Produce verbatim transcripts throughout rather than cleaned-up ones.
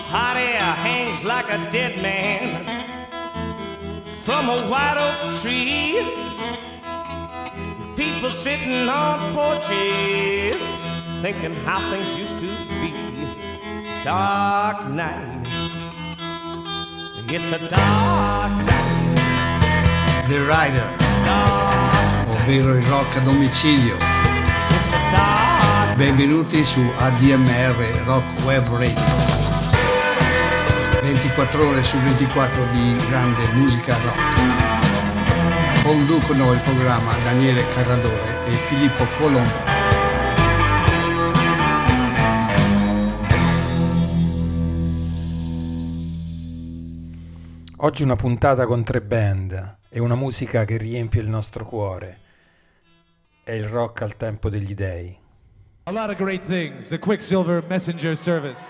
hot air hangs like a dead man from a white oak tree. People sitting on porches thinking how things used to be. Dark night, it's a dark night. The Riders, dark, ovvero il rock a domicilio. It's a dark. Benvenuti su A D M R Rock Web Radio. ventiquattro ore su ventiquattro di grande musica rock. Conducono il programma Daniele Carradore e Filippo Colombo. Oggi una puntata con tre band e una musica che riempie il nostro cuore. È il rock al tempo degli dei. A lot of great things. The Quicksilver Messenger Service.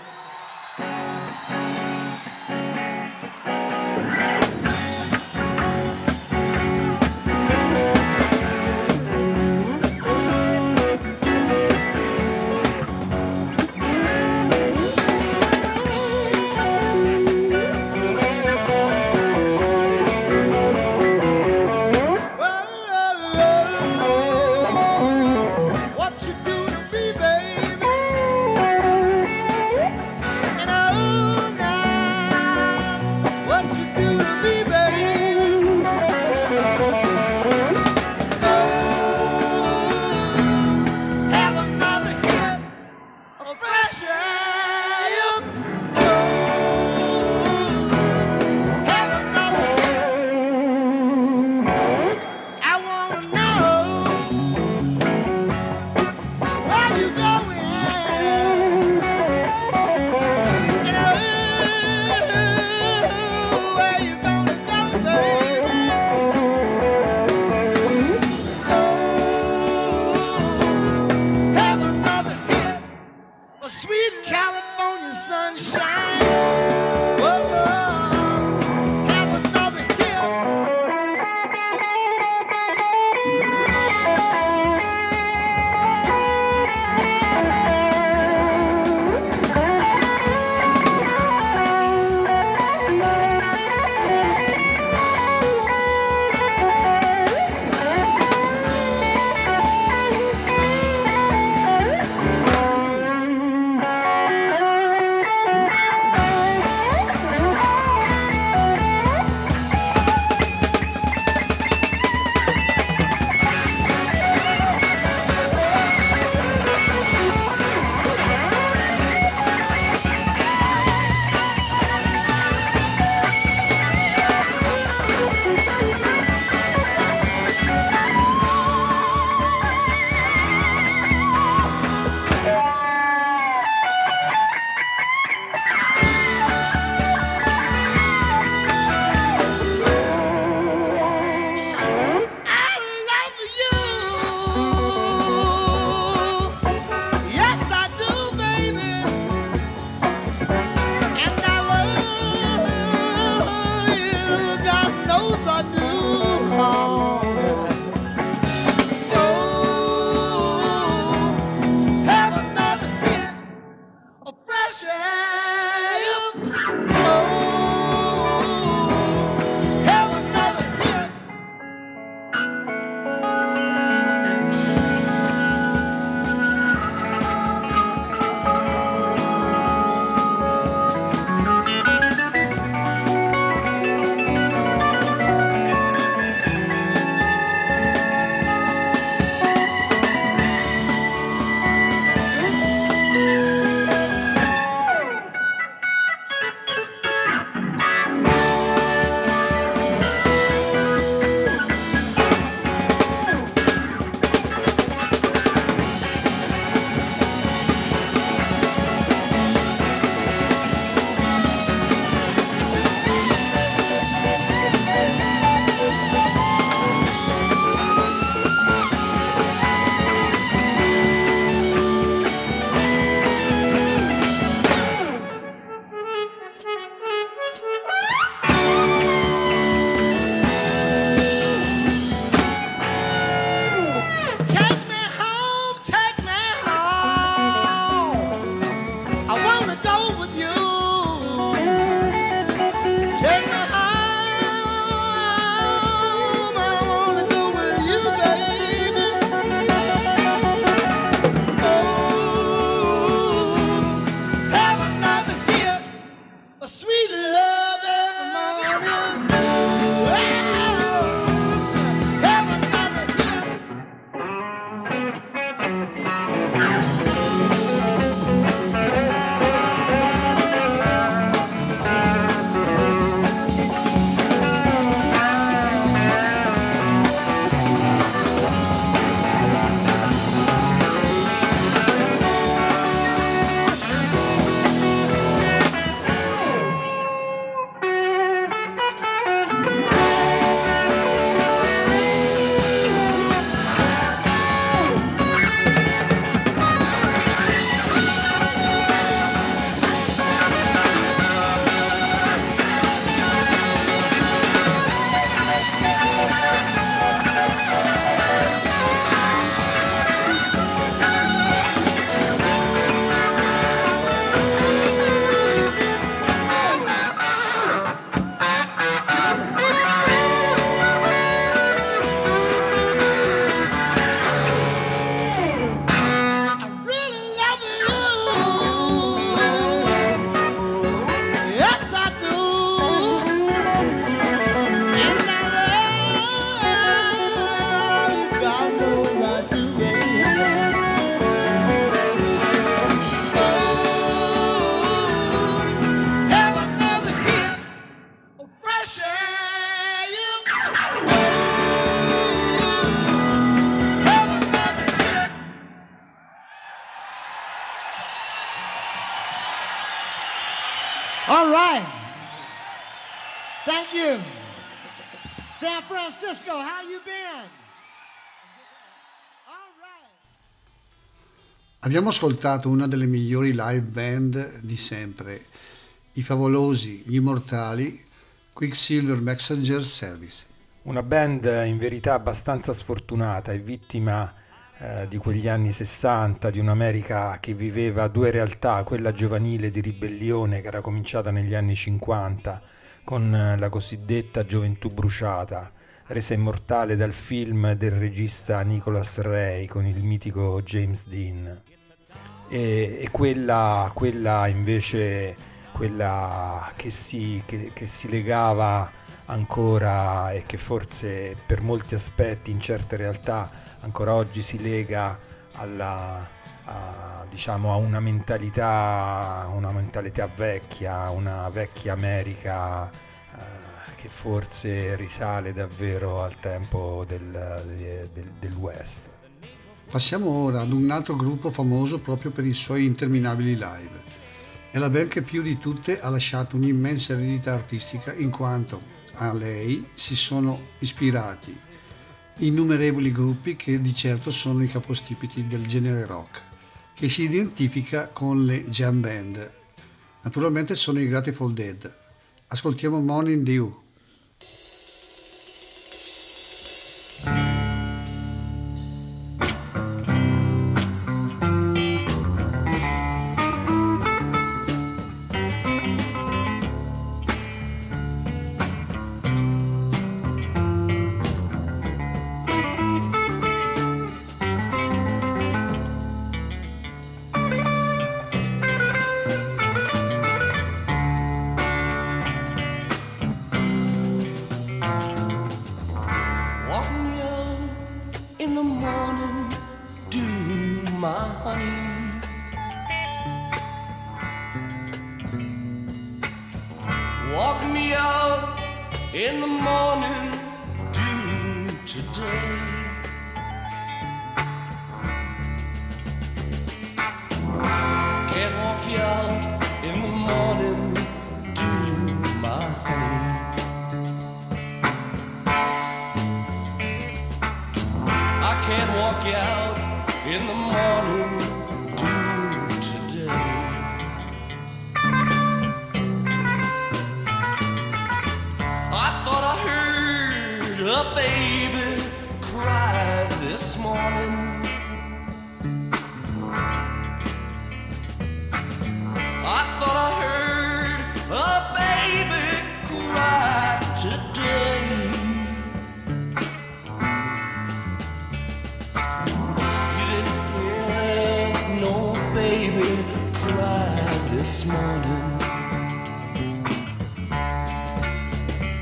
All right. Thank you. San Francisco, how you been? All right. Abbiamo ascoltato una delle migliori live band di sempre, i favolosi, gli immortali Quicksilver Messenger Service. Una band in verità abbastanza sfortunata e vittima eh, di quegli anni sessanta, di un'America che viveva due realtà, quella giovanile di ribellione che era cominciata negli anni cinquanta con eh, la cosiddetta gioventù bruciata, resa immortale dal film del regista Nicholas Ray con il mitico James Dean, e, e quella, quella invece quella che si, che, che si legava ancora e che forse per molti aspetti in certe realtà ancora oggi si lega alla, a, diciamo, a una mentalità una mentalità vecchia, una vecchia America eh, che forse risale davvero al tempo del, del, del West. Passiamo ora ad un altro gruppo famoso proprio per i suoi interminabili live. È la band che più di tutte ha lasciato un'immensa eredità artistica, in quanto a lei si sono ispirati innumerevoli gruppi che di certo sono i capostipiti del genere rock, che si identifica con le jam band. Naturalmente sono i Grateful Dead. Ascoltiamo Morning Dew.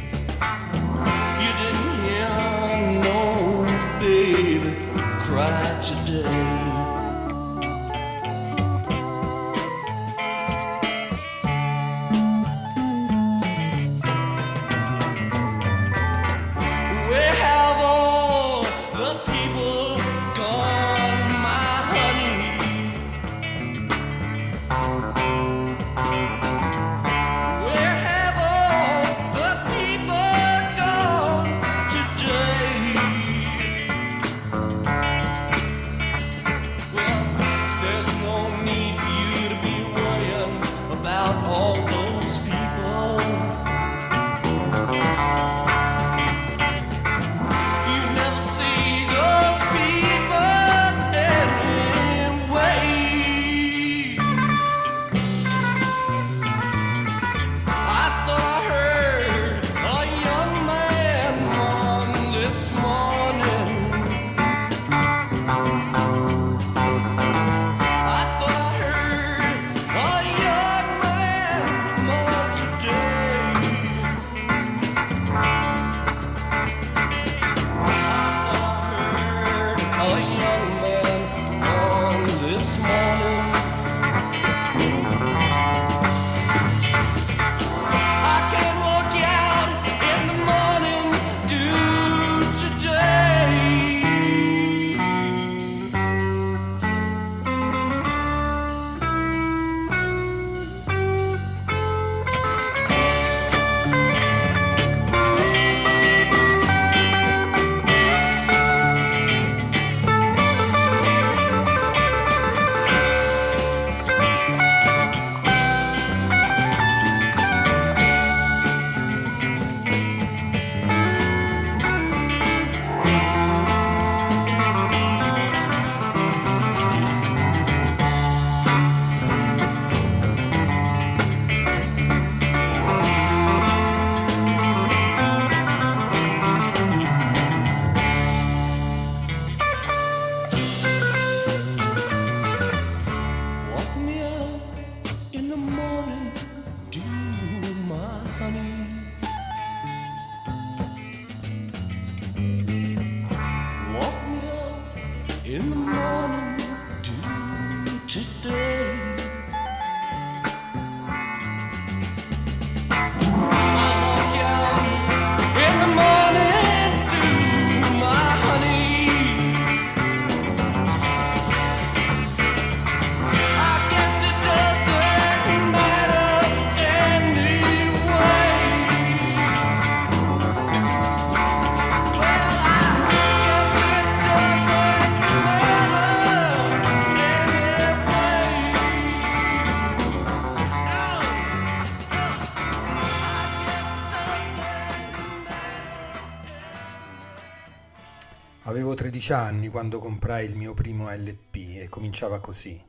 Cry honey. Woke me up in the morning to today. Avevo tredici anni quando comprai il mio primo L P e cominciava così.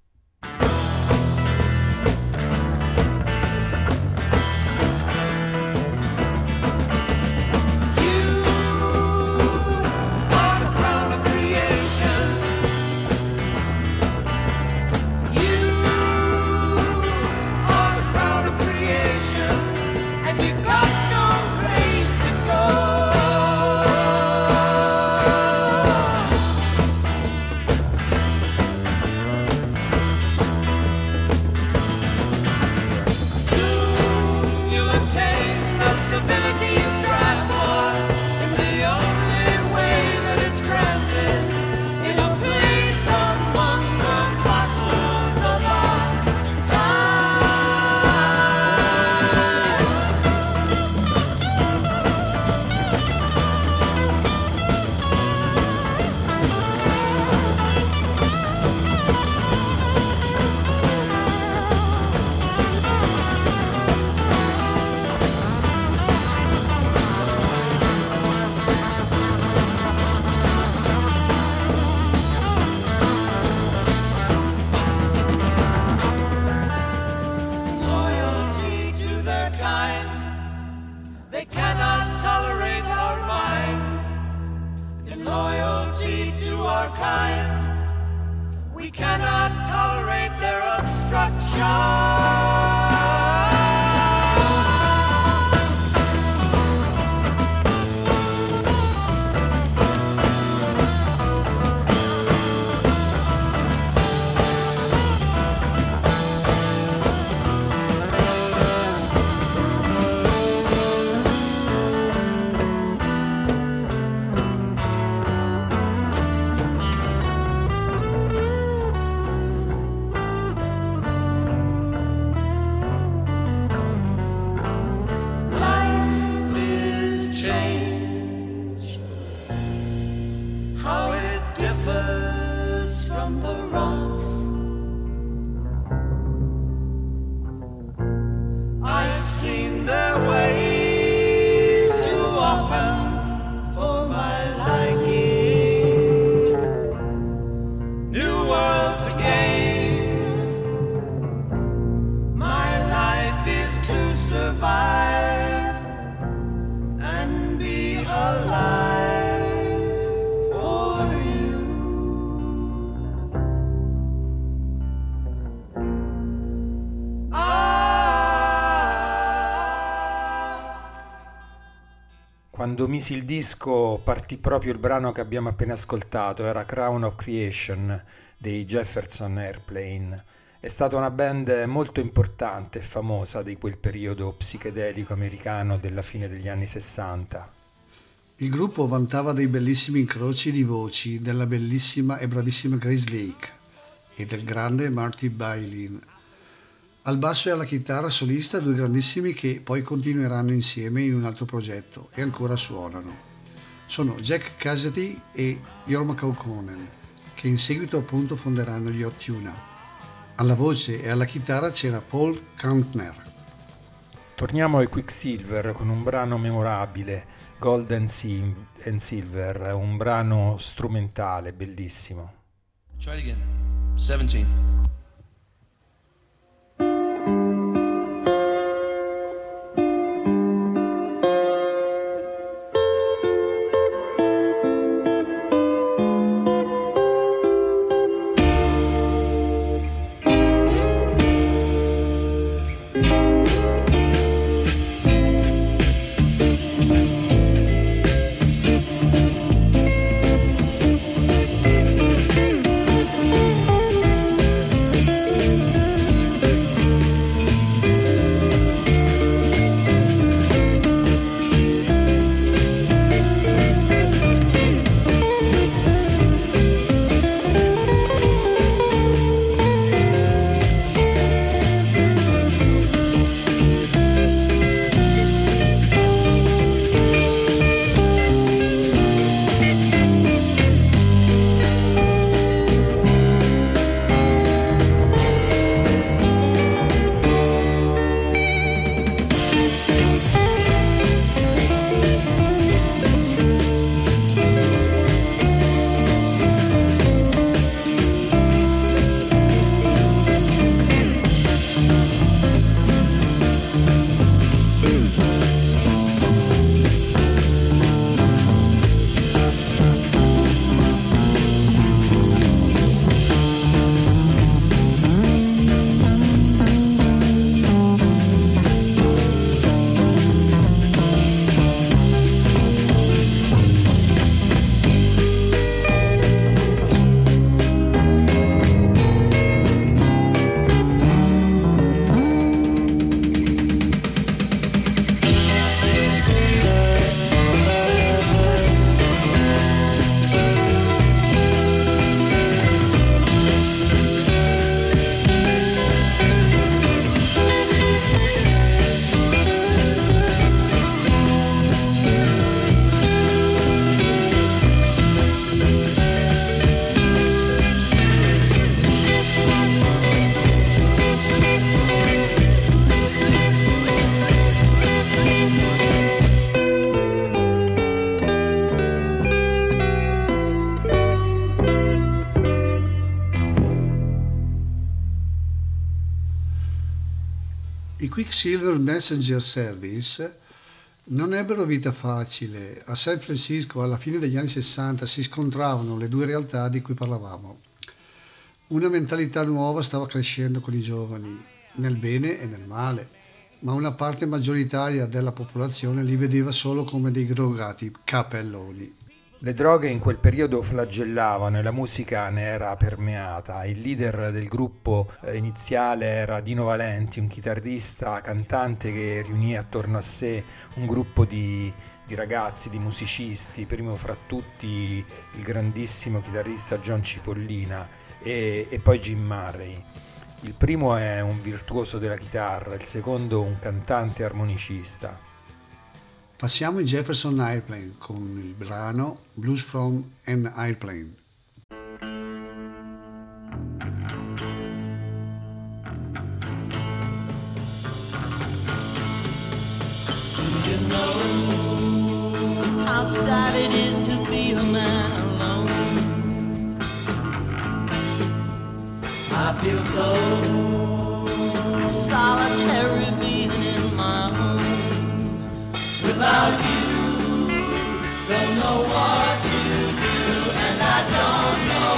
Quando misi il disco partì proprio il brano che abbiamo appena ascoltato, era Crown of Creation dei Jefferson Airplane. È stata una band molto importante e famosa di quel periodo psichedelico americano della fine degli anni sessanta. Il gruppo vantava dei bellissimi incroci di voci della bellissima e bravissima Grace Lake e del grande Marty Bailin. Al basso e alla chitarra solista due grandissimi che poi continueranno insieme in un altro progetto e ancora suonano. Sono Jack Cassidy e Jorma Kaukonen, che in seguito appunto fonderanno gli Hot Tuna. Alla voce e alla chitarra c'era Paul Kantner. Torniamo ai Quicksilver con un brano memorabile, Gold and Silver, un brano strumentale bellissimo. Try it again. seventeen. Quicksilver Messenger Service non ebbero vita facile. A San Francisco alla fine degli anni sessanta si scontravano le due realtà di cui parlavamo. Una mentalità nuova stava crescendo con i giovani, nel bene e nel male, ma una parte maggioritaria della popolazione li vedeva solo come dei drogati capelloni. Le droghe in quel periodo flagellavano e la musica ne era permeata. Il leader del gruppo iniziale era Dino Valenti, un chitarrista cantante che riunì attorno a sé un gruppo di, di ragazzi, di musicisti, primo fra tutti il grandissimo chitarrista John Cipollina e, e poi Jim Murray. Il primo è un virtuoso della chitarra, il secondo un cantante armonicista. Passiamo in Jefferson Airplane con il brano Blues from an Airplane. Do you know how sad it is to be a man alone? I feel so solitary being in my home. Without you, don't know what to do, and I don't know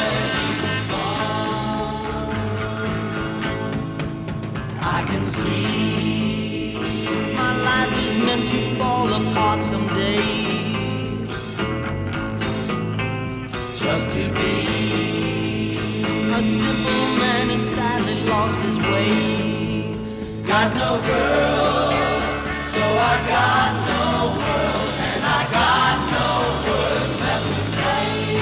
where you've gone. I can see my life is meant to fall apart someday. Just to be a simple man who sadly lost his way. Got no girl, so I got no world, and I got no words left to say.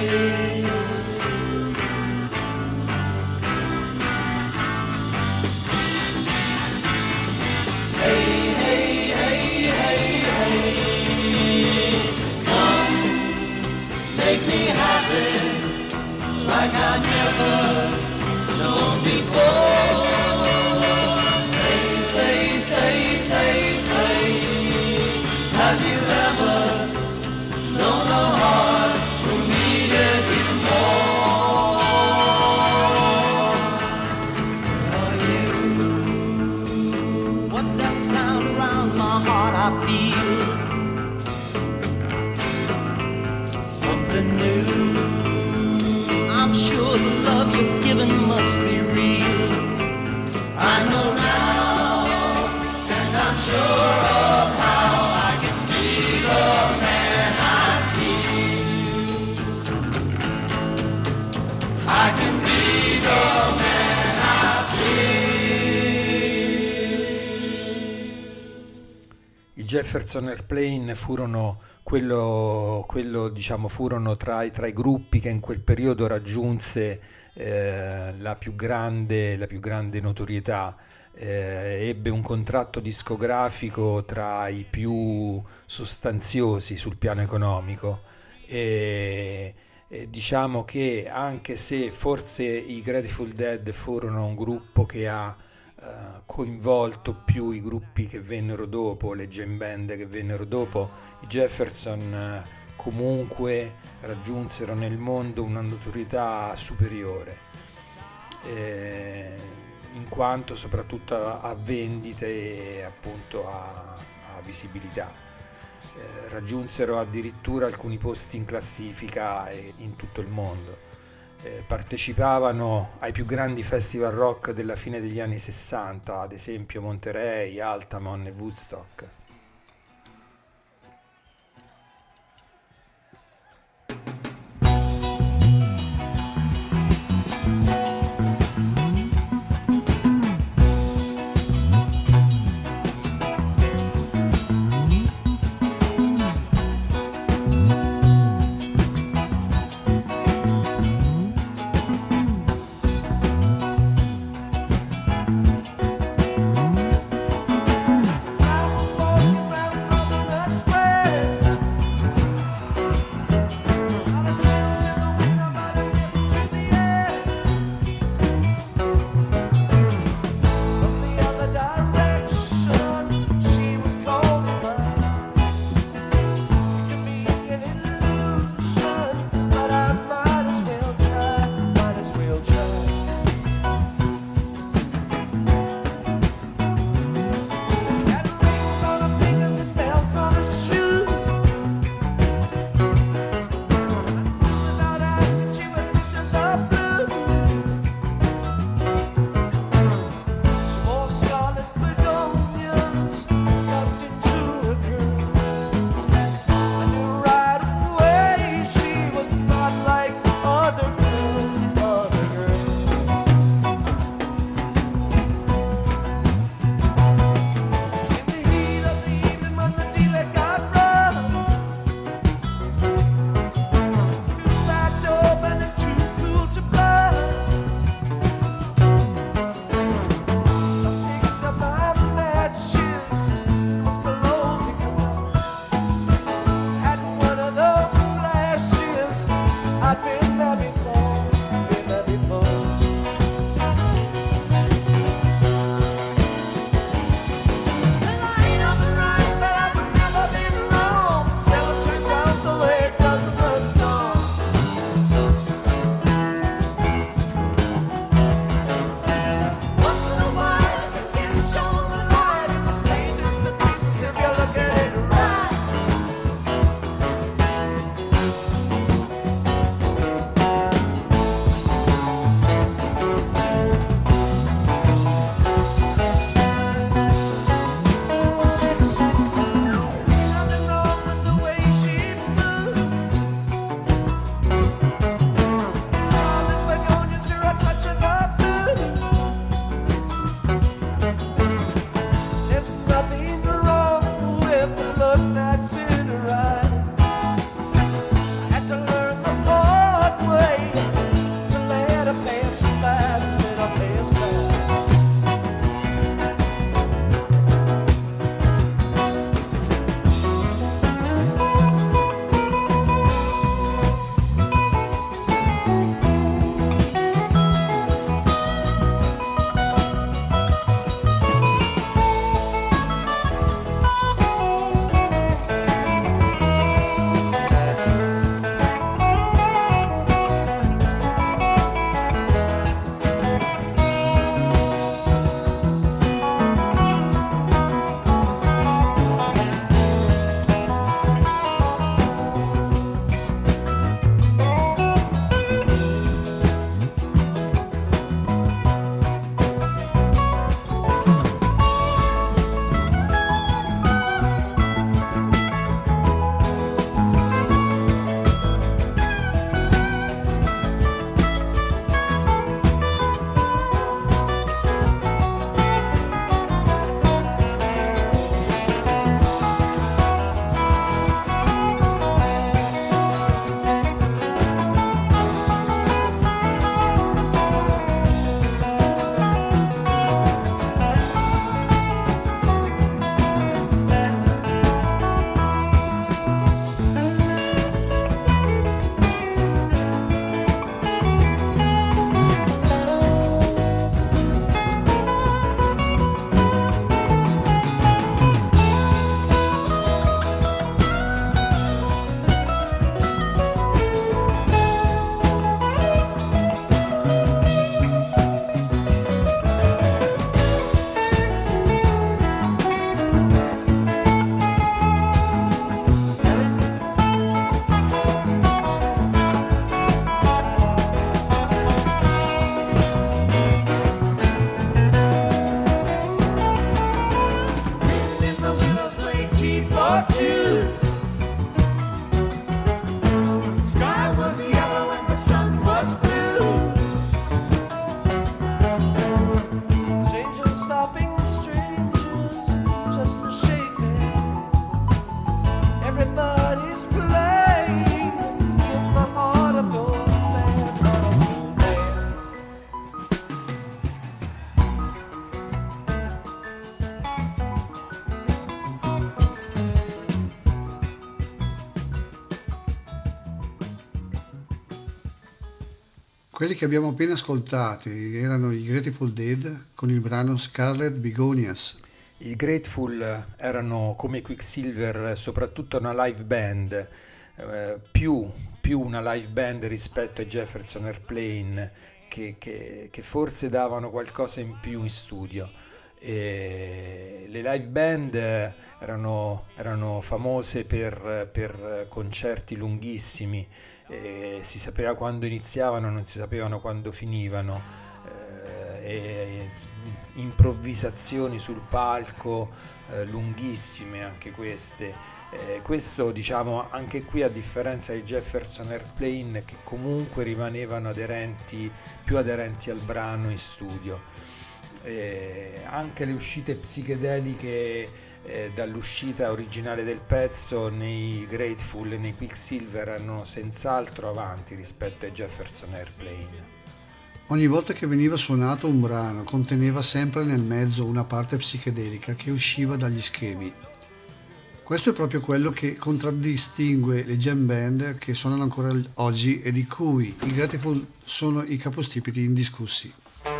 Hey, hey, hey, hey, hey, come, make me happy, like I've never known before. Say, say, say, say, have you ever known a heart who needed you more? Where are you? What's that sound around my heart I feel? Something new. I'm sure the love you're giving must be real. I know now. I'm sure of how I can be the man I feel. I can be the man I feel. I Jefferson Airplane furono quello, quello diciamo furono tra i, tra i gruppi che in quel periodo raggiunse eh, la più grande la più grande notorietà. Eh, ebbe un contratto discografico tra i più sostanziosi sul piano economico e, e diciamo che anche se forse i Grateful Dead furono un gruppo che ha eh, coinvolto più i gruppi che vennero dopo, le jam band che vennero dopo, i Jefferson eh, comunque raggiunsero nel mondo una notorietà superiore. Eh, in quanto soprattutto a, a vendite e appunto a, a visibilità. Eh, raggiunsero addirittura alcuni posti in classifica e in tutto il mondo. Eh, partecipavano ai più grandi festival rock della fine degli anni sessanta, ad esempio Monterey, Altamont e Woodstock. I was born for two. The sky was yellow and the sun was blue. Strangers stopping strangers just to shake hands. Everybody's playing in the heart of gold land, of gold land. Quelli che abbiamo appena ascoltati erano i Grateful Dead con il brano Scarlet Begonias. I Grateful erano come Quicksilver soprattutto una live band, eh, più, più una live band rispetto ai Jefferson Airplane, che, che, che forse davano qualcosa in più in studio. E le live band erano, erano famose per, per concerti lunghissimi, e si sapeva quando iniziavano, non si sapevano quando finivano, eh, e improvvisazioni sul palco eh, lunghissime anche queste. Eh, questo, diciamo, anche qui, a differenza di Jefferson Airplane, che comunque rimanevano aderenti, più aderenti al brano in studio. Eh, anche le uscite psichedeliche eh, dall'uscita originale del pezzo nei Grateful e nei Quicksilver erano senz'altro avanti rispetto ai Jefferson Airplane. Ogni volta che veniva suonato un brano conteneva sempre nel mezzo una parte psichedelica che usciva dagli schemi. Questo è proprio quello che contraddistingue le jam band che suonano ancora oggi e di cui i Grateful sono i capostipiti indiscussi.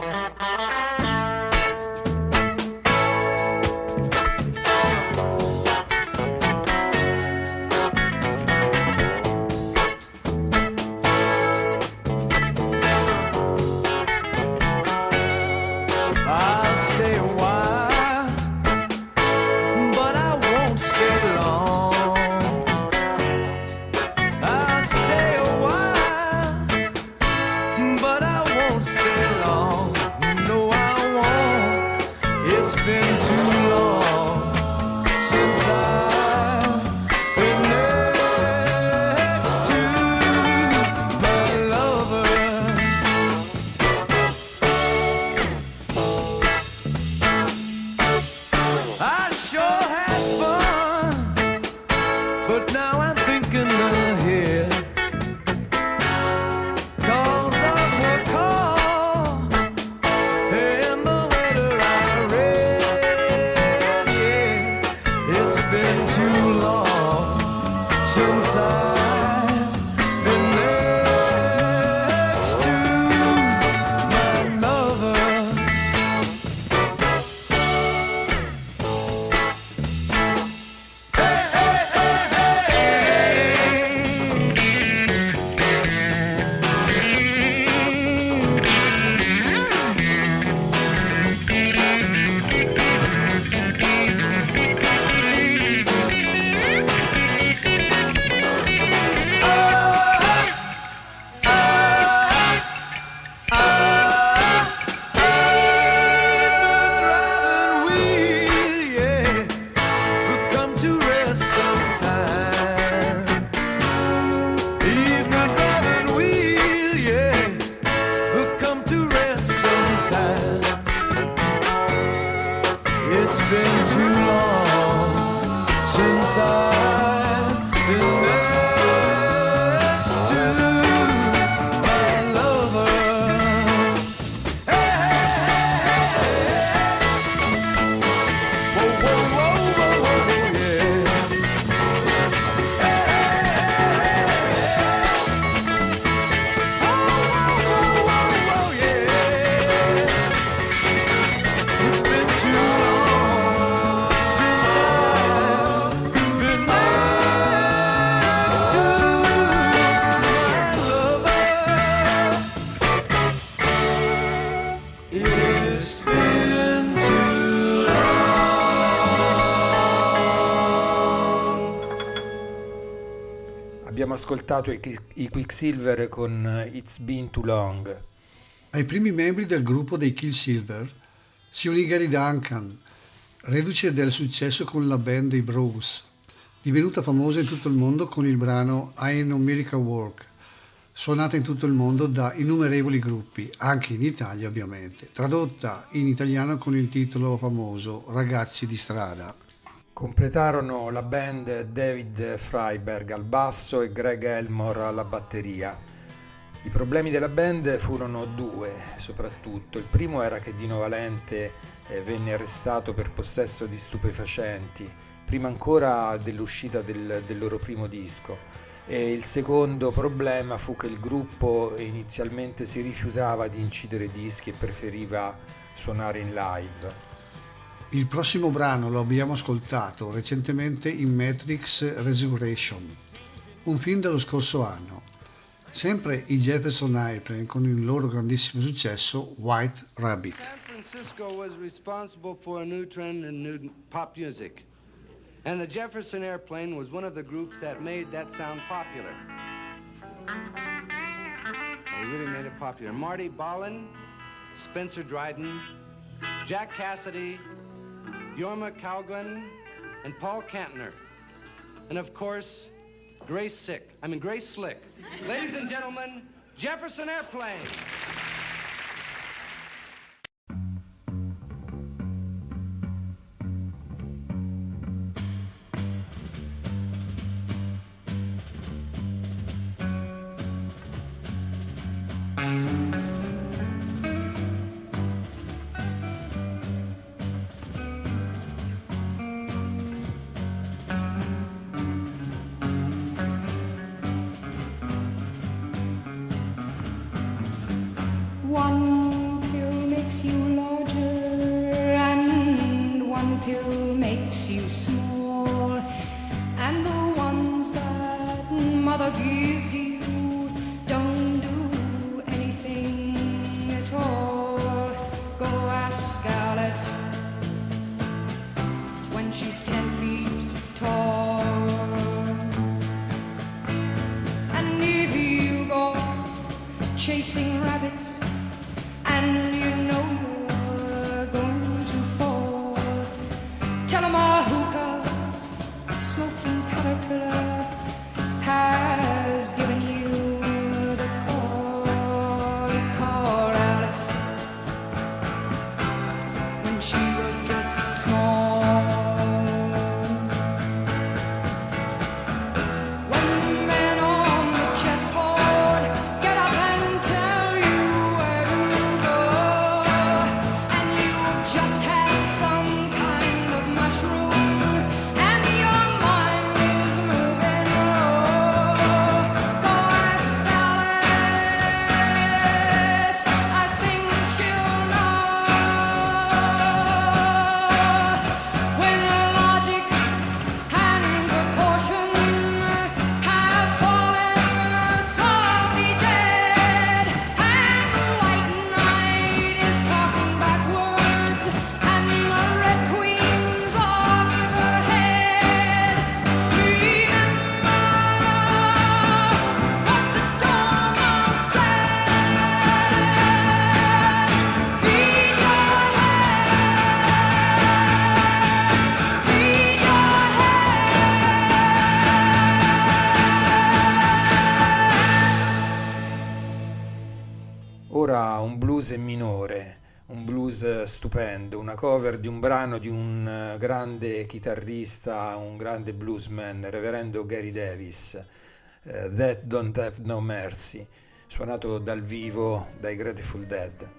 Abbiamo ascoltato i, i Quicksilver con It's Been Too Long. Ai primi membri del gruppo dei Quicksilver si unì Gary Duncan, reduce del successo con la band dei Bruce. divenuta famosa in tutto il mondo con il brano I Know Miracle Work, suonata in tutto il mondo da innumerevoli gruppi, anche in Italia ovviamente, tradotta in italiano con il titolo famoso Ragazzi di strada. Completarono la band David Freiberg al basso e Greg Elmore alla batteria. I problemi della band furono due, soprattutto. Il primo era che Dino Valente eh, venne arrestato per possesso di stupefacenti, prima ancora dell'uscita del, del loro primo disco. E il secondo problema fu che il gruppo inizialmente si rifiutava di incidere dischi e preferiva suonare in live. Il prossimo brano lo abbiamo ascoltato recentemente in Matrix Resurrection, un film dello scorso anno. Sempre i Jefferson Airplane con il loro grandissimo successo White Rabbit. San Francisco was responsible for a new trend in new pop music. And the Jefferson Airplane was one of the groups that made that sound popular. They really made it popular. Marty Ballin, Spencer Dryden, Jack Cassidy, Jorma Kaugun, and Paul Kantner. And of course, Grace Sick. I mean, Grace Slick. Ladies and gentlemen, Jefferson Airplane. One pill makes you larger and one pill makes you small, and the ones that mother gives you don't do anything at all. Go ask Alice when she's ten feet tall. And if you go chasing rabbits and you know you're going to fall, tell 'em a hookah smoking caterpillar has given you the call. Call Alice when she was just small. When the men on the chessboard get up and tell you where to go, and you just had some kind of mushroom and your mind is moving low, go ask Alice, I think she'll know. When logic and proportion have fallen softly dead, and the white knight is talking backwards, and the red queen's off with her head, remember what the Dormouse said. Feed your head, feed your Ora un blues in minore, un blues stupendo, una cover di un brano di un eh, grande chitarrista, un grande bluesman, reverendo Gary Davis, eh, That Don't Have No Mercy, suonato dal vivo dai Grateful Dead.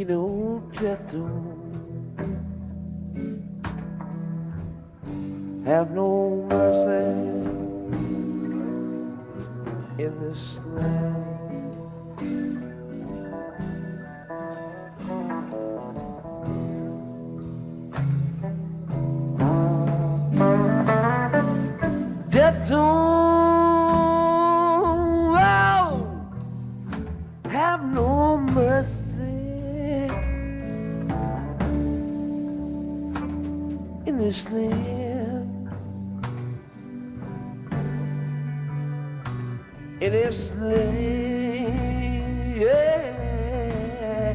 know, death don't have no mercy in this land. Death don't oh, have no mercy in this land. In this land, yeah.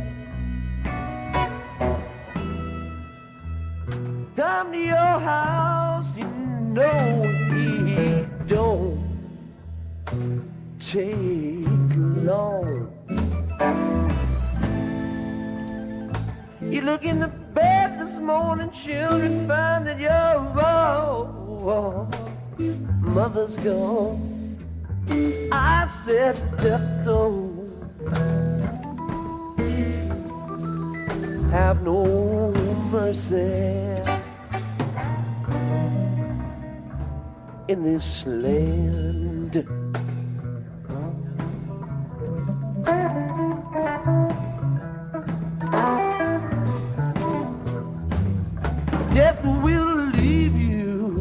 Come to your house, you know he don't take long. You look in the bed this morning, children, find that your oh, mother's gone. I said death don't have no mercy in this land. Death will leave you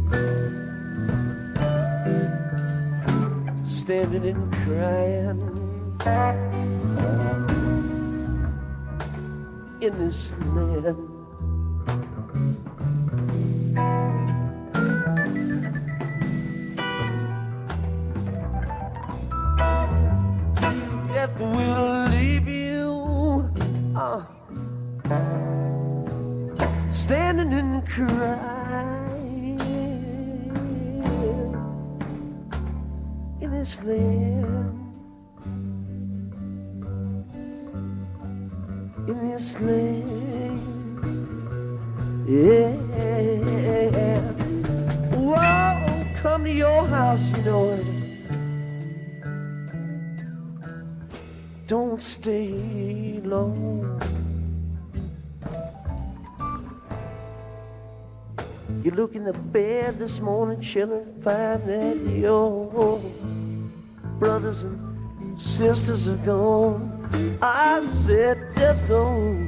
standing and crying in this land. Death will leave you uh, standing and crying in this land. In this land, yeah. Whoa, come to your house, you know it. Don't stay long. You look in the bed this morning, children, find that your brothers and sisters are gone. I said, just don't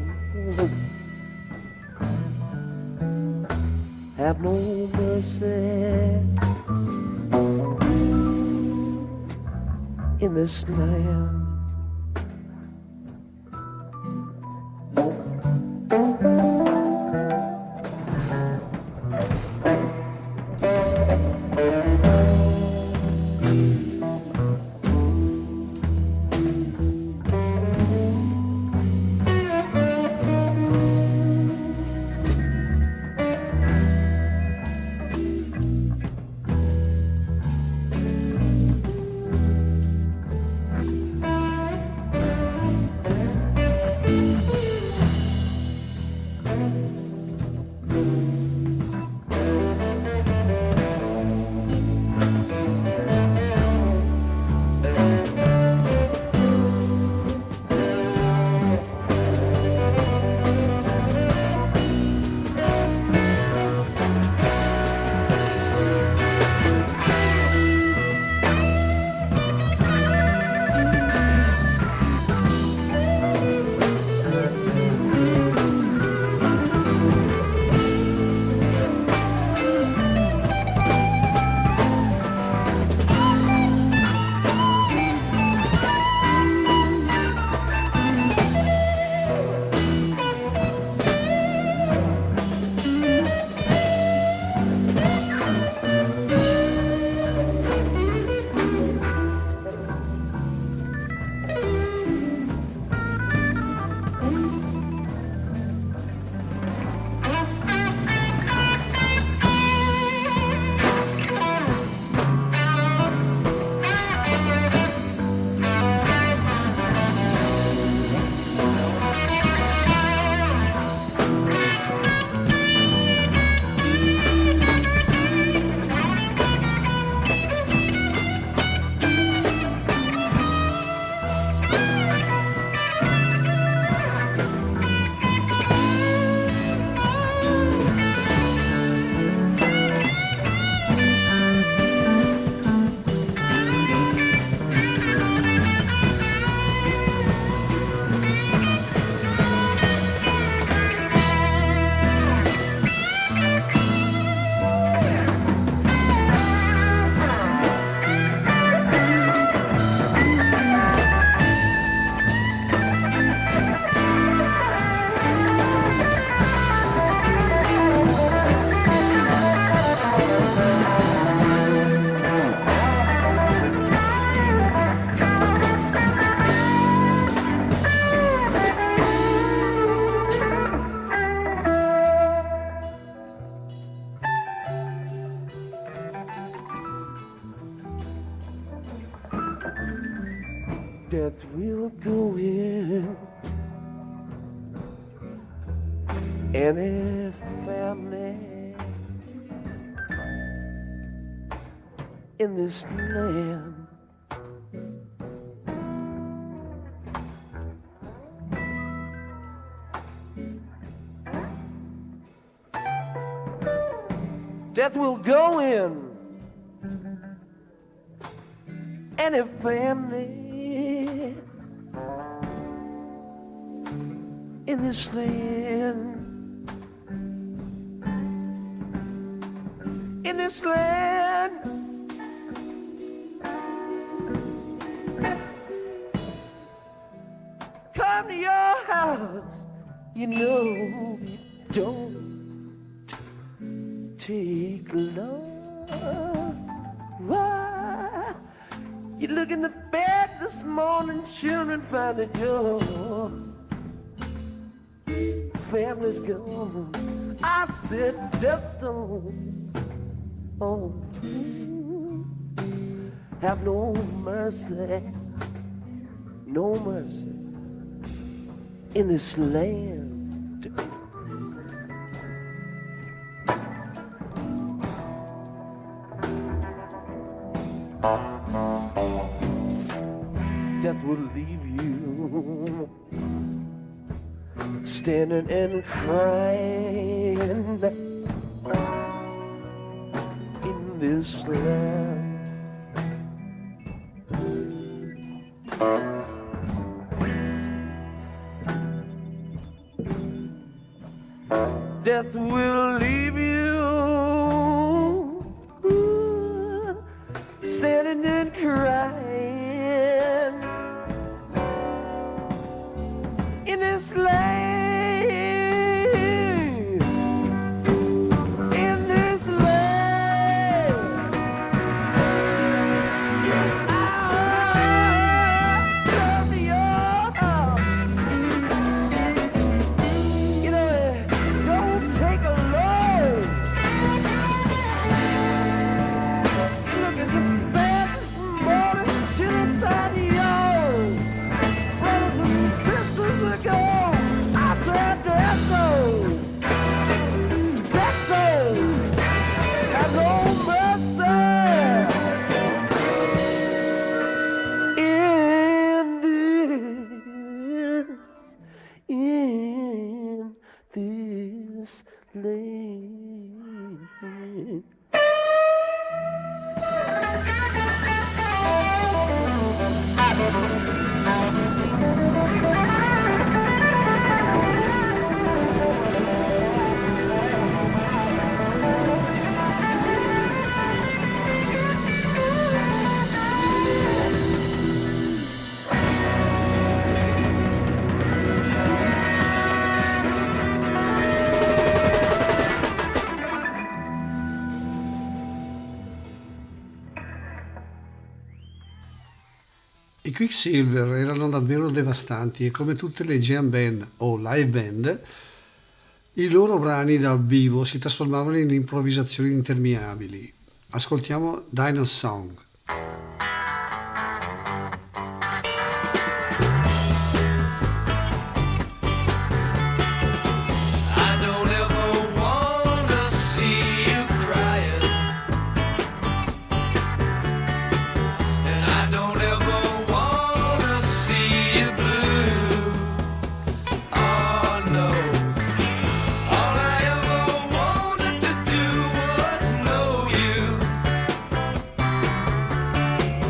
have no mercy in this land. Death will go in any family in this land. Death will go in any family in this land. In this land. Come to your house, you know, don't take long. Why? You look in the bed this morning, children find that your family's gone. I said death don't, oh, have no mercy, no mercy in this land. Death will leave you standing and crying in this land. Death will leave you standing and crying in this land. In this land. Ah, come to your house. You know, don't take a load. Look at the bed this morning, shit inside of yours. Brothers and sisters ago, I said death goes. Death goes. Have no mercy. In this, in this land. I Quicksilver erano davvero devastanti e come tutte le jam band o live band, i loro brani dal vivo si trasformavano in improvvisazioni interminabili. Ascoltiamo Dino Song. Know you.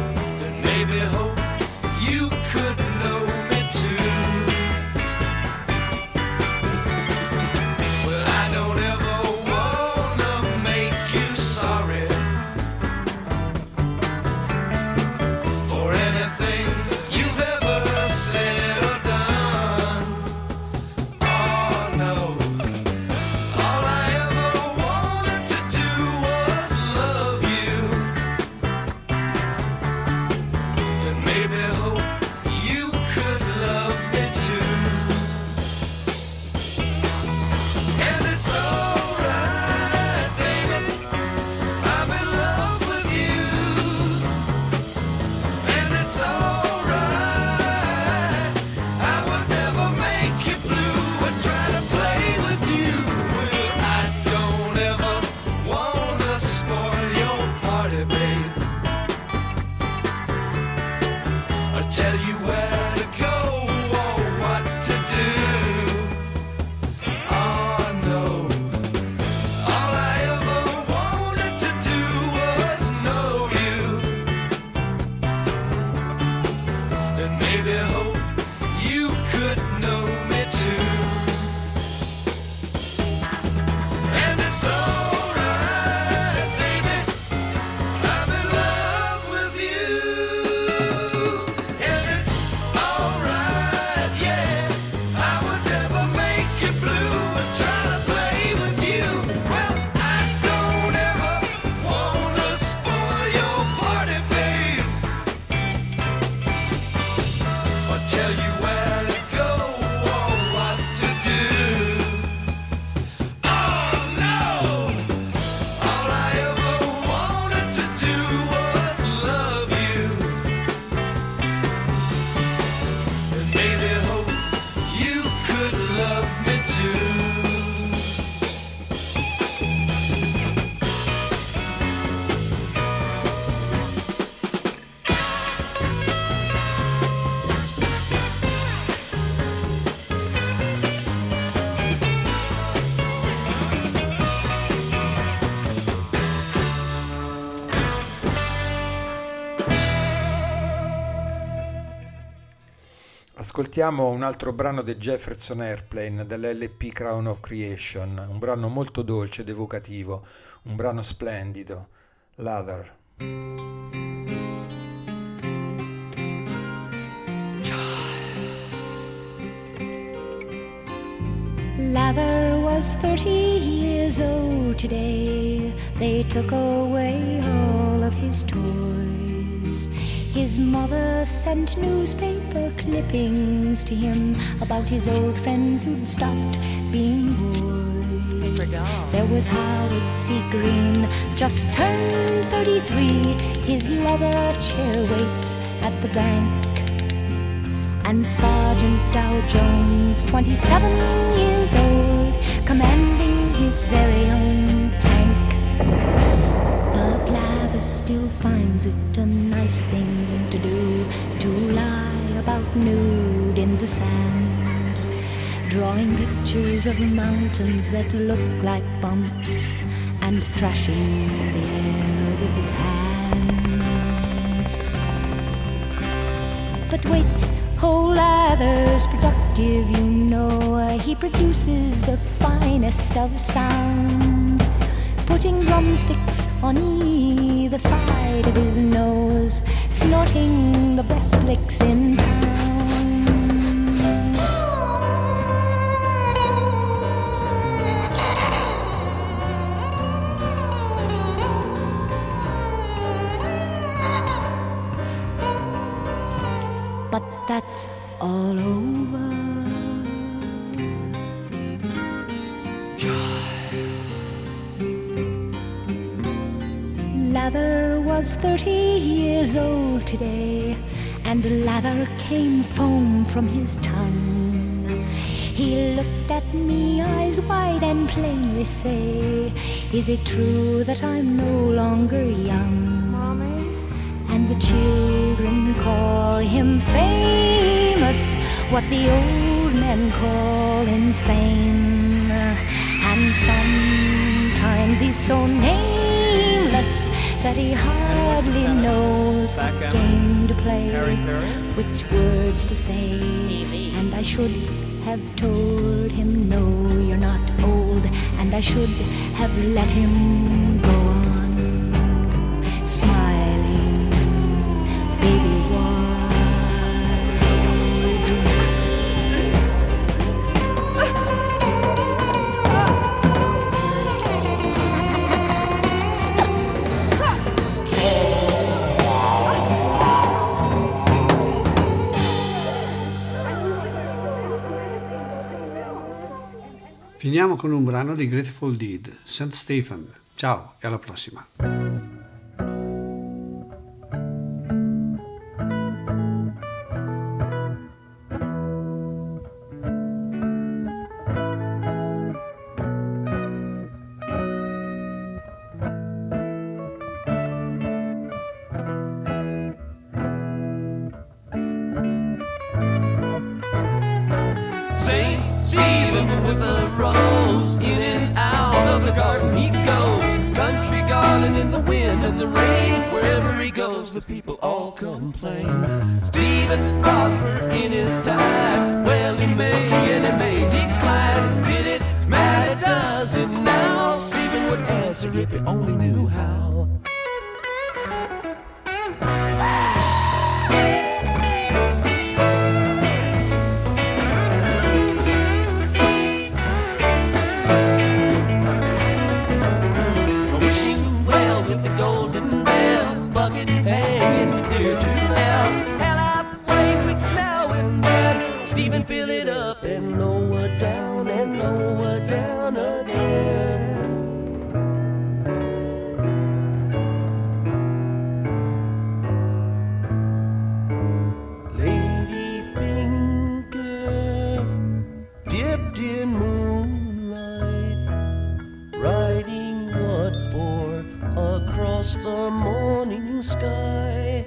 Ascoltiamo un altro brano di Jefferson Airplane dell'L P Crown of Creation, un brano molto dolce ed evocativo, un brano splendido, Leather. Lather was thirty years old today. They took away all of his toys. His mother sent newspaper clippings to him about his old friends who'd stopped being boys. There was Howard C. Green, just turned thirty-three. His leather chair waits at the bank. And Sergeant Dow Jones, twenty-seven years old, commanding his very own tank. But Lather still finds it a nice thing to do, to lie about nude in the sand, drawing pictures of mountains that look like bumps, and thrashing the air with his hands. But wait, oh, Lather's productive, you know. He produces the finest of sound, putting drumsticks on either side of his nose, snorting the best licks in town. But that's all over. Lather was thirty years old today, and lather came foam from his tongue. He looked at me, eyes wide, and plainly say, is it true that I'm no longer young? Mommy? And the children call him famous, what the old men call insane. And sometimes he's so nameless that he hardly knows what game to play, which words to say. And I should have told him, no, you're not old, and I should have let him go on smiling, baby wide. Finiamo con un brano di Grateful Dead, Saint Stephen. Ciao e alla prossima. Saint Stephen with a rose, in and out of the garden he goes. Country garland in the wind and the rain. Wherever he goes, the people all complain. Stephen prospered in his time. Well, he may and he may decline. Did it matter? Does it now? Stephen would answer if he only knew how. Hanging clear to hell. Hell halfway twixt now and then. Stephen, fill it up and lower down and lower down again. Lady finger dipped in moonlight, writing what for across the morning sky.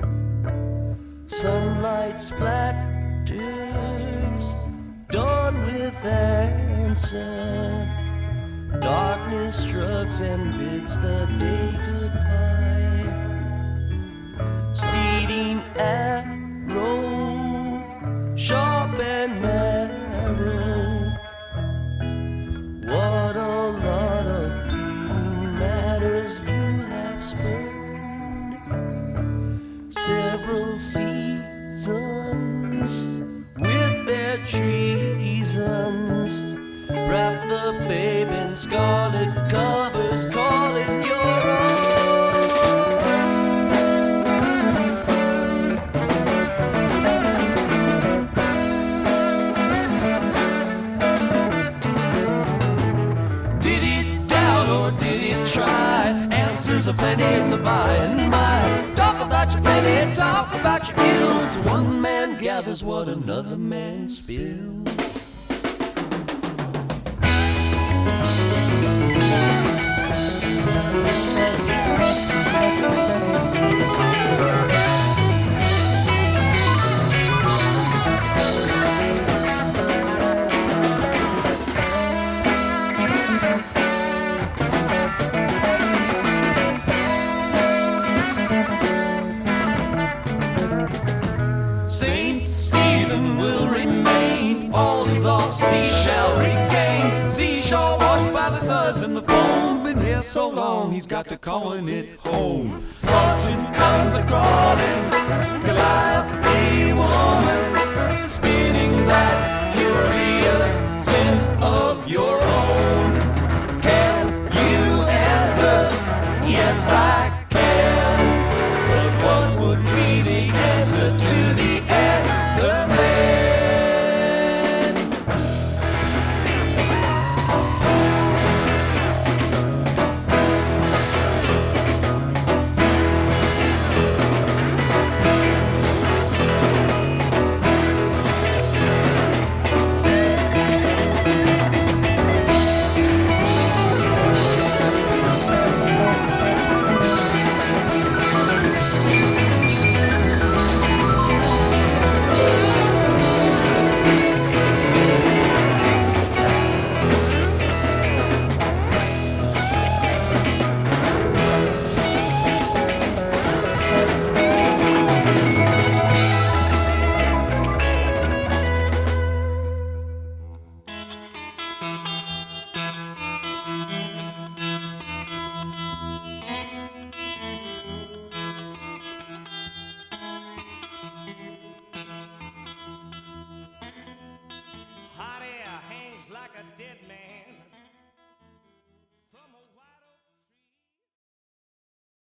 Sunlight splatters, dawn with answer. Darkness shrugs and bids the day goodbye. Speeding arrow, sharp spurned several seasons with their treasons. Wrap the babe in scarlet covers, call it your own. Did it doubt or did it try? Answers are plenty in the by and by. Talk about your plenty, talk about your ills. One man gathers what another man spills. Saint Stephen will remain, all lost he shall regain. Seashore washed by the suds and the foam, been here so long he's got to calling it home. Fortune comes a crawling, Goliath a woman, spinning that curious sense of your